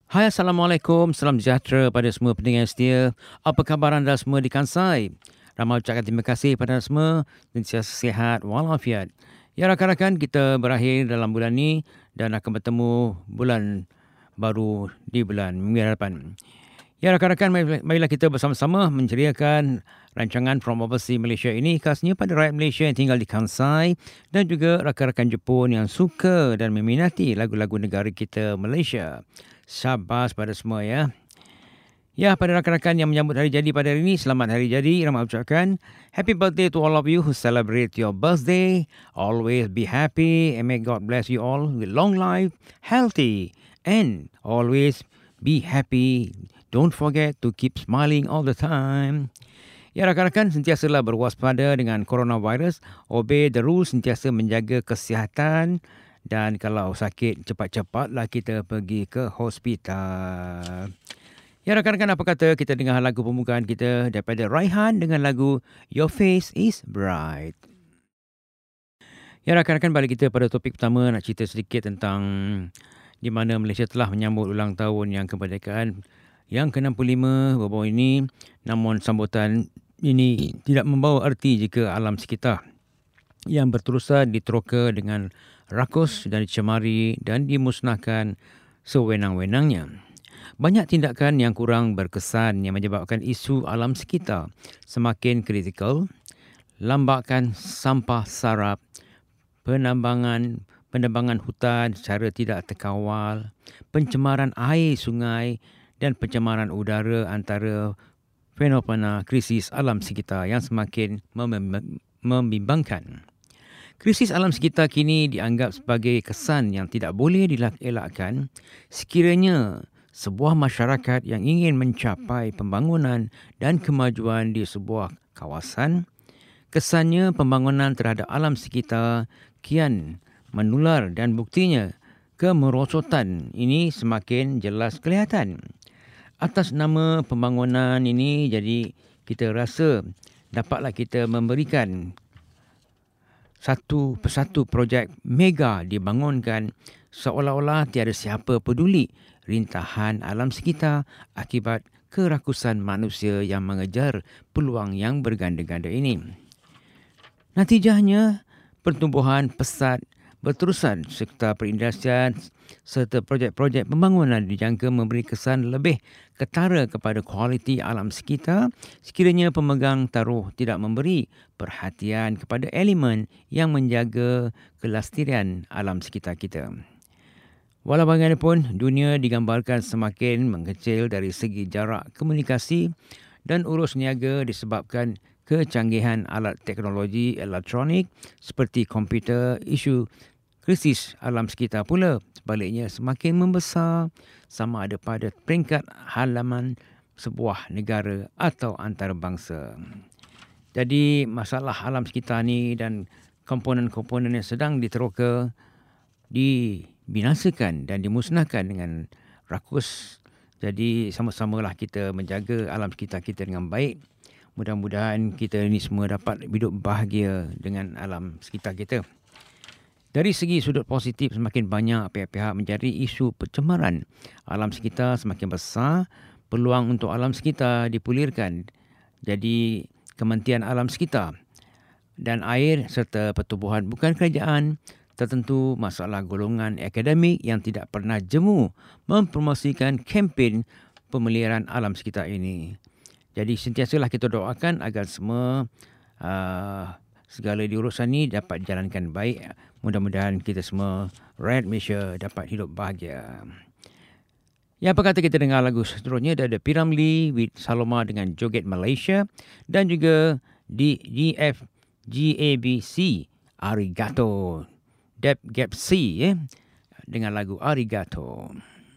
Hai, Assalamualaikum. Salam sejahtera pada semua pendengar setia. Apa khabar anda semua di Kansai? Ramai ucapkan terima kasih pada anda semua. Sentiasa sihat walafiat. Ya, rakan-rakan, kita berakhir dalam bulan ini dan akan bertemu bulan baru di bulan minggu hadapan. Ya, rakan-rakan, marilah kita bersama-sama menceriakan rancangan From Overseas Malaysia ini khasnya pada rakyat Malaysia yang tinggal di Kansai dan juga rakan-rakan Jepun yang suka dan meminati lagu-lagu negara kita Malaysia. Syabas pada semua ya. Ya, pada rakan-rakan yang menyambut hari jadi pada hari ini, selamat hari jadi. Ramai ucapkan happy birthday to all of you who celebrate your birthday. Always be happy and may God bless you all with long life, healthy, and always be happy. Don't forget to keep smiling all the time. Ya, rakan-rakan, sentiasalah berwaspada dengan coronavirus. Obey the rules, sentiasa menjaga kesihatan. Dan kalau sakit, cepat-cepatlah kita pergi ke hospital. Ya, rakan-rakan, apa kata kita dengar lagu pembukaan kita daripada Raihan dengan lagu Your Face is Bright. Ya, rakan-rakan, balik kita pada topik pertama, nak cerita sedikit tentang di mana Malaysia telah menyambut ulang tahun yang kemerdekaan yang ke-65 baru-baru ini. Namun sambutan ini tidak membawa erti jika alam sekitar yang berterusan diteroka dengan rakus dan dicemari dan dimusnahkan sewenang-wenangnya. Banyak tindakan yang kurang berkesan yang menyebabkan isu alam sekitar semakin kritikal. Lambakan sampah sarap, penebangan hutan secara tidak terkawal, pencemaran air sungai dan pencemaran udara antara fenomena krisis alam sekitar yang semakin membimbangkan. Krisis alam sekitar kini dianggap sebagai kesan yang tidak boleh dielakkan sekiranya sebuah masyarakat yang ingin mencapai pembangunan dan kemajuan di sebuah kawasan. Kesannya pembangunan terhadap alam sekitar kian menular dan buktinya kemerosotan ini semakin jelas kelihatan. Atas nama pembangunan ini, jadi kita rasa dapatlah kita memberikan satu persatu projek mega dibangunkan seolah-olah tiada siapa peduli rintahan alam sekitar akibat kerakusan manusia yang mengejar peluang yang berganda-ganda ini. Natijahnya, pertumbuhan pesat berterusan serta perindustrian serta projek-projek pembangunan dijangka memberi kesan lebih ketara kepada kualiti alam sekitar sekiranya pemegang taruh tidak memberi perhatian kepada elemen yang menjaga kelestarian alam sekitar kita. Walau bagaimanapun, dunia digambarkan semakin mengecil dari segi jarak komunikasi dan urus niaga disebabkan kecanggihan alat teknologi elektronik seperti komputer. Isu krisis alam sekitar pula sebaliknya semakin membesar sama ada pada peringkat halaman sebuah negara atau antarabangsa. Jadi masalah alam sekitar ni dan komponen-komponen yang sedang diteroka dibinasakan dan dimusnahkan dengan rakus. Jadi sama-samalah kita menjaga alam sekitar kita dengan baik. Mudah-mudahan kita ini semua dapat hidup bahagia dengan alam sekitar kita. Dari segi sudut positif, semakin banyak pihak-pihak mencari isu pencemaran alam sekitar semakin besar, peluang untuk alam sekitar dipulirkan. Jadi Kementerian Alam Sekitar dan Air serta Pertubuhan bukan kerajaan tertentu masalah golongan akademik yang tidak pernah jemu mempromosikan kempen pemeliharaan alam sekitar ini. Jadi sentiasalah kita doakan agar semua segala diurusan ini dapat dijalankan baik. Mudah-mudahan kita semua rakyat Malaysia dapat hidup bahagia. Ya, apa kata kita dengar lagu seterusnya dari Piramli with Saloma dengan Joget Malaysia dan juga di GFGABC Arigato Dep Gap C dengan lagu Arigato.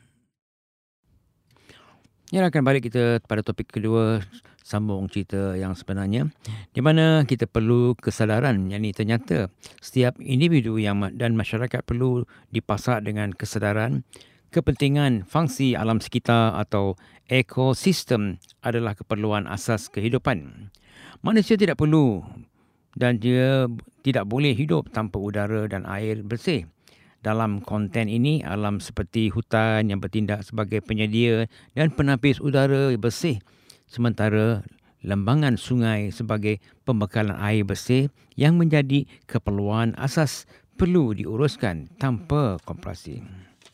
Ya, akan balik kita pada topik kedua, sambung cerita yang sebenarnya, di mana kita perlu kesadaran, yang ini ternyata setiap individu dan masyarakat perlu dipasak dengan kesadaran kepentingan fungsi alam sekitar atau ekosistem adalah keperluan asas kehidupan. Manusia tidak perlu dan dia tidak boleh hidup tanpa udara dan air bersih. dalam konten ini, alam seperti hutan yang bertindak sebagai penyedia dan penapis udara bersih, sementara lembangan sungai sebagai pembekalan air bersih yang menjadi keperluan asas perlu diuruskan tanpa kompresi.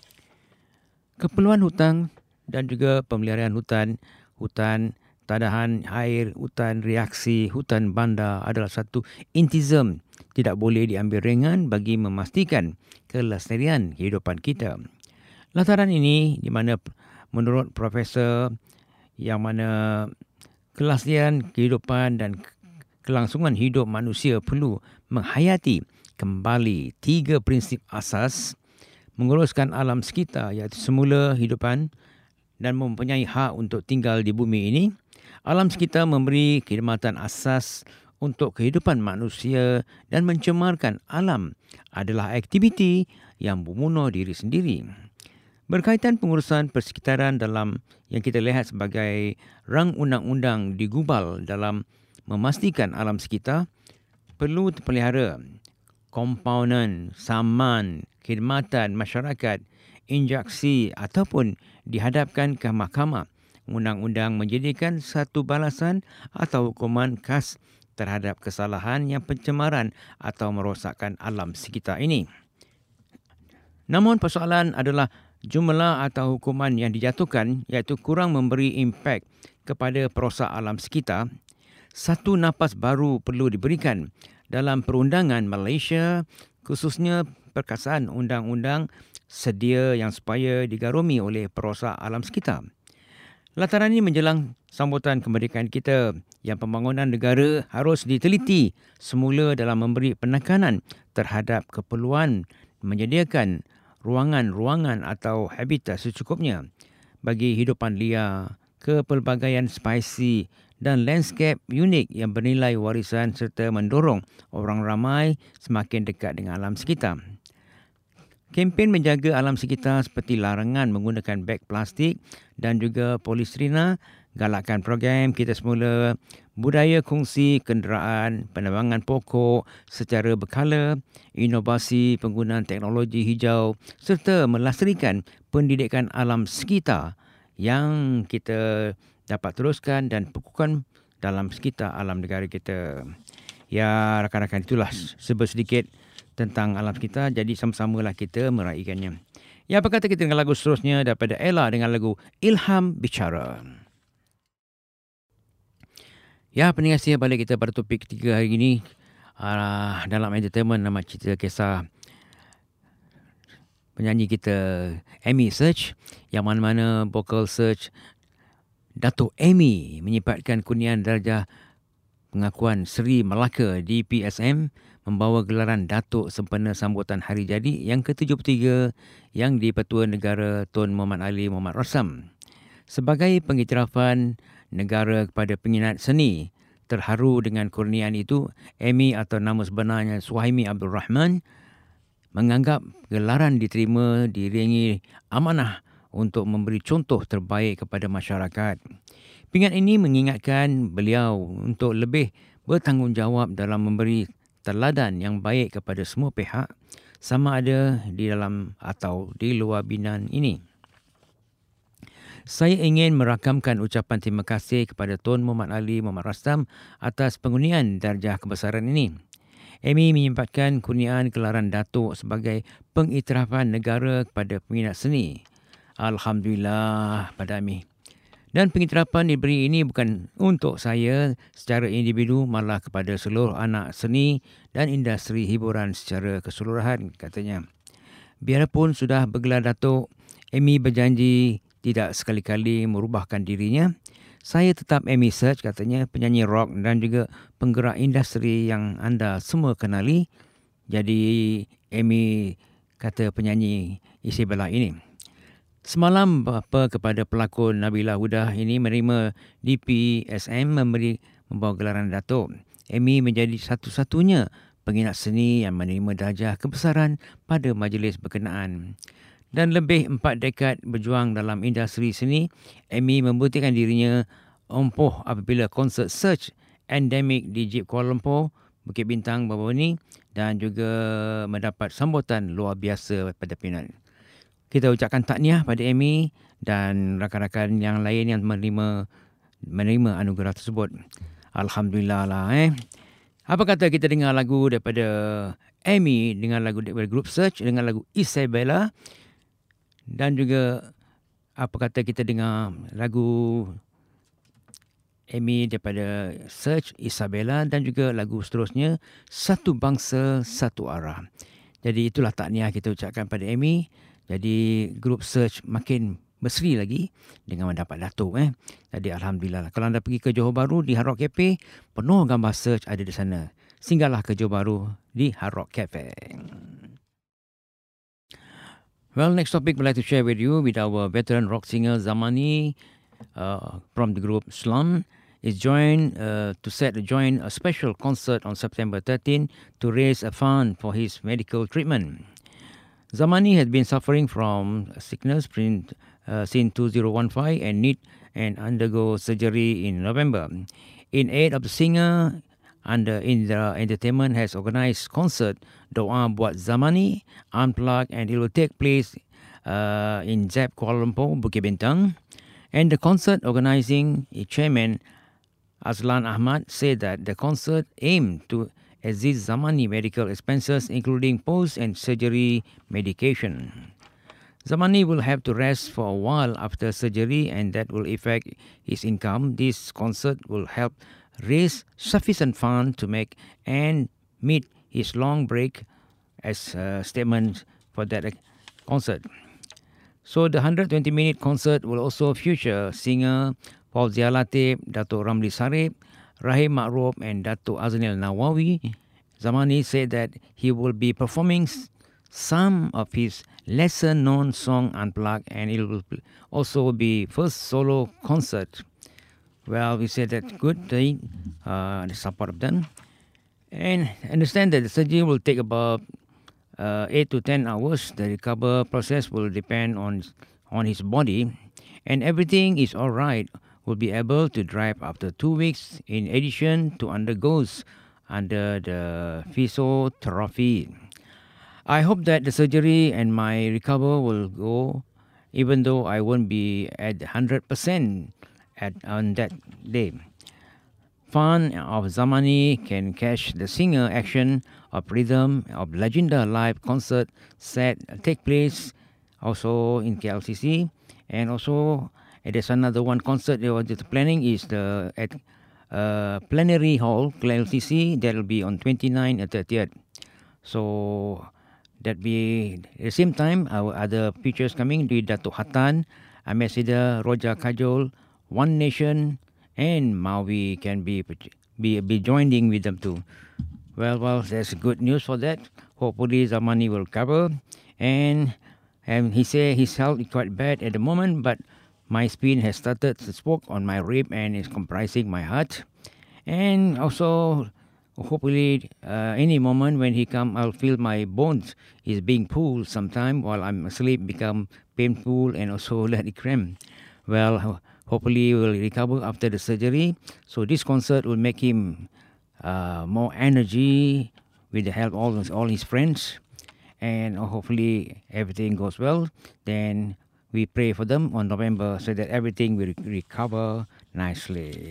Keperluan hutan dan juga pemeliharaan hutan tadahan air, hutan reaksi, hutan bandar adalah satu intisam tidak boleh diambil ringan bagi memastikan kelestarian kehidupan kita. Lantaran ini di mana menurut profesor yang mana kelestarian kehidupan dan kelangsungan hidup manusia perlu menghayati kembali 3 prinsip asas menguruskan alam sekitar, iaitu semula hidupan dan mempunyai hak untuk tinggal di bumi ini. Alam sekitar memberi khidmatan asas untuk kehidupan manusia dan mencemarkan alam adalah aktiviti yang membunuh diri sendiri. Berkaitan pengurusan persekitaran dalam yang kita lihat sebagai rang undang-undang digubal dalam memastikan alam sekitar perlu terpelihara komponen, saman, khidmatan masyarakat, injeksi ataupun dihadapkan ke mahkamah. Undang-undang menjadikan satu balasan atau hukuman khas terhadap kesalahan yang pencemaran atau merosakkan alam sekitar ini. Namun persoalan adalah jumlah atau hukuman yang dijatuhkan, iaitu kurang memberi impak kepada perosak alam sekitar. Satu nafas baru perlu diberikan dalam perundangan Malaysia, khususnya perkasaan undang-undang sedia yang supaya digarumi oleh perosak alam sekitar. Lantaran ini menjelang sambutan kemerdekaan kita yang pembangunan negara harus diteliti semula dalam memberi penekanan terhadap keperluan menyediakan ruangan-ruangan atau habitat secukupnya bagi hidupan liar, kepelbagaian spesies dan landscape unik yang bernilai warisan serta mendorong orang ramai semakin dekat dengan alam sekitar. Kempen menjaga alam sekitar seperti larangan menggunakan beg plastik dan juga polistirena, galakkan program kita semula, budaya kongsi kenderaan, penebangan pokok secara berkala, inovasi penggunaan teknologi hijau serta melastarikan pendidikan alam sekitar yang kita dapat teruskan dan pekukan dalam sekitar alam negara kita. Ya, rakan-rakan, itulah sedikit tentang alam kita. Jadi sama-samalah kita meraihkannya. Ya, apa kata kita dengan lagu seterusnya daripada Ella dengan lagu Ilham Bicara. Ya, pendengar setia, balik kita pada topik ketiga hari ini. Dalam entertainment, nama cerita kisah penyanyi kita Amy Search, yang mana-mana vocal search Datuk Amy menyipatkan kurniaan darjah pengakuan Seri Melaka di PSM, membawa gelaran Datuk sempena sambutan hari jadi yang ke-73 yang di-Pertua Negara Tun Muhammad Ali Muhammad Rasam. Sebagai pengiktirafan negara kepada peminat seni, terharu dengan kurniaan itu, Amy atau nama sebenarnya Suhaimi Abdul Rahman menganggap gelaran diterima diiringi amanah untuk memberi contoh terbaik kepada masyarakat. Pingat ini mengingatkan beliau untuk lebih bertanggungjawab dalam memberi teladan yang baik kepada semua pihak, sama ada di dalam atau di luar binaan ini. Saya ingin merakamkan ucapan terima kasih kepada Tun Muhammad Ali Muhammad Rasam atas pengundian darjah kebesaran ini. Amy menyempatkan kurniaan gelaran Datuk sebagai pengiktirafan negara kepada peminat seni. Alhamdulillah pada Amy. Dan pengiktirafan diberi ini bukan untuk saya secara individu, malah kepada seluruh anak seni dan industri hiburan secara keseluruhan, katanya. Biarpun sudah bergelar Datuk, Amy berjanji tidak sekali-kali merubahkan dirinya. Saya tetap Amy Search, katanya, penyanyi rock dan juga penggerak industri yang anda semua kenali. Jadi Amy, kata penyanyi isi belah ini. Semalam bapa kepada pelakon Nabila Huda ini menerima DPSM membawa gelaran Datuk. Amy menjadi satu-satunya pengingat seni yang menerima darjah kebesaran pada majlis berkenaan. Dan lebih 4 dekad berjuang dalam industri seni, Amy membuktikan dirinya empuh apabila konsert Search Endemic di Jeep Kuala Lumpur Bukit Bintang baru ni dan juga mendapat sambutan luar biasa pada Penang. Kita ucapkan tahniah pada Amy dan rakan-rakan yang lain yang menerima anugerah tersebut. Alhamdulillah lah. Apa kata kita dengar lagu daripada Amy dengan lagu daripada Group Search dengan lagu Isabella, dan juga apa kata kita dengar lagu Amy daripada Search, Isabella, dan juga lagu seterusnya Satu Bangsa Satu Arah. Jadi itulah tahniah kita ucapkan pada Amy. Jadi Group Search makin berseri lagi dengan mendapat datuk. Jadi Alhamdulillah. Kalau anda pergi ke Johor Bahru di Hard Rock Cafe, penuh gambar Search ada di sana. Singgahlah ke Johor Bahru di Hard Rock Cafe. Well, next topic we'd like to share with you with our veteran rock singer Zamani from the group Slum is join a special concert on September 13 to raise a fund for his medical treatment. Zamani has been suffering from sickness since 2015 and undergo surgery in November. In aid of the singer, Indra Entertainment has organized concert Doa Buat Zamani Unplugged, and it will take place in ZEP Kuala Lumpur, Bukit Bintang. And the concert organizing chairman Azlan Ahmad said that the concert aimed to assist Zamani medical expenses, including post and surgery medication. Zamani will have to rest for a while after surgery, and that will affect his income. This concert will help raise sufficient funds to make and meet his long break, as a statement for that concert. So the 120-minute concert will also feature singer Fauzia Latif, Dato' Ramli Sarip, Rahim Ma'ruf, and Dato' Aznil Nawawi. Zamani said that he will be performing some of his lesser-known song Unplugged, and it will also be first solo concert. Well, we said that good thing, the support of them. And understand that the surgery will take about 8 to 10 hours. The recovery process will depend on his body, and everything is all right. Will be able to drive after 2 weeks, in addition to undergoes under the physiotherapy. I hope that the surgery and my recovery will go, even though I won't be at 100% on that day. Fan of Zamani can catch the singer action of Rhythm of Legenda live concert set take place also in KLCC, and also there's another one concert they were just planning is at Plenary Hall KLCC, that will be on 29th and 30th. So that be at the same time our other features coming with Dato' Hatan, Ambassador Roja Kajol, One Nation, and Maui can be joining with them too. Well, there's good news for that. Hopefully Zamani will cover, and he say his health is quite bad at the moment, but my spine has started to spoke on my rib and is comprising my heart, and also hopefully any moment when he come, I'll feel my bones is being pulled sometime while I'm asleep, become painful and also let it cramp. Well, hopefully he will recover after the surgery. So this concert will make him more energy with the help of all his friends, and hopefully everything goes well. Then we pray for them on November so that everything will recover nicely.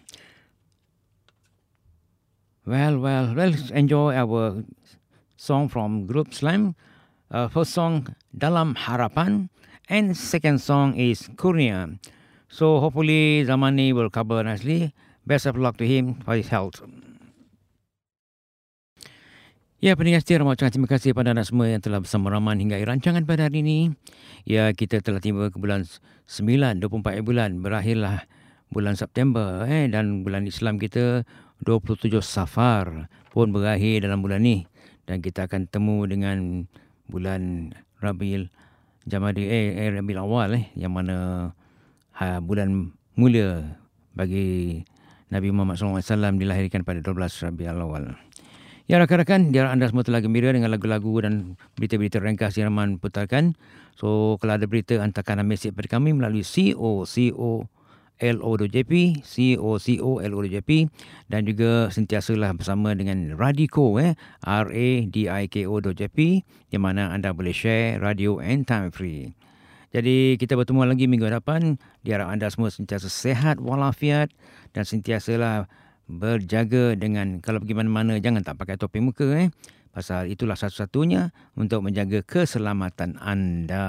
Well, let's enjoy our song from Group Slam. First song, Dalam Harapan, and second song is Kurnia. So hopefully Zamani will cover nicely. Best of luck to him for his health. Ya, pendengar setia, Rahmat ucapkan terima kasih kepada anda semua yang telah bersama Rahman hingga akhir rancangan pada hari ini. Ya, kita telah tiba ke bulan 9, 24 bulan. Berakhirlah bulan September dan bulan Islam kita 27 Safar pun berakhir dalam bulan ni. Dan kita akan temu dengan bulan Rabiul Awal yang mana bulan mulia bagi Nabi Muhammad SAW dilahirkan pada 12 Rabiul Awal. Ya, rakan-rakan, biar anda semua telah gembira dengan lagu-lagu dan berita-berita ringkas yang Rahman putarkan. So, kalau ada berita, hantarkan mesej kepada kami melalui COCO COCO.LO.jp, COCO.LO.jp, dan juga sentiasalah bersama dengan Radiko, RADIKO.jp, di mana anda boleh share radio anytime free. Jadi kita bertemu lagi minggu hadapan. Diharap anda semua sentiasa sehat walafiat dan sentiasalah berjaga dengan, kalau pergi mana-mana jangan tak pakai topi muka, pasal itulah satu-satunya untuk menjaga keselamatan anda.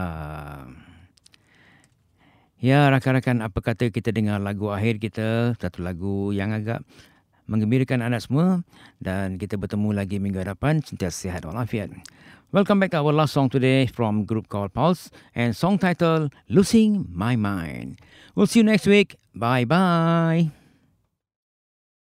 Ya, rakan-rakan, apa kata kita dengar lagu akhir kita, satu lagu yang agak menggembirakan anda semua, dan kita bertemu lagi minggu hadapan. Sentiasa sihat walafiat. Welcome back to our last song today from group called Pulse, and song title Losing My Mind. We'll see you next week. Bye-bye.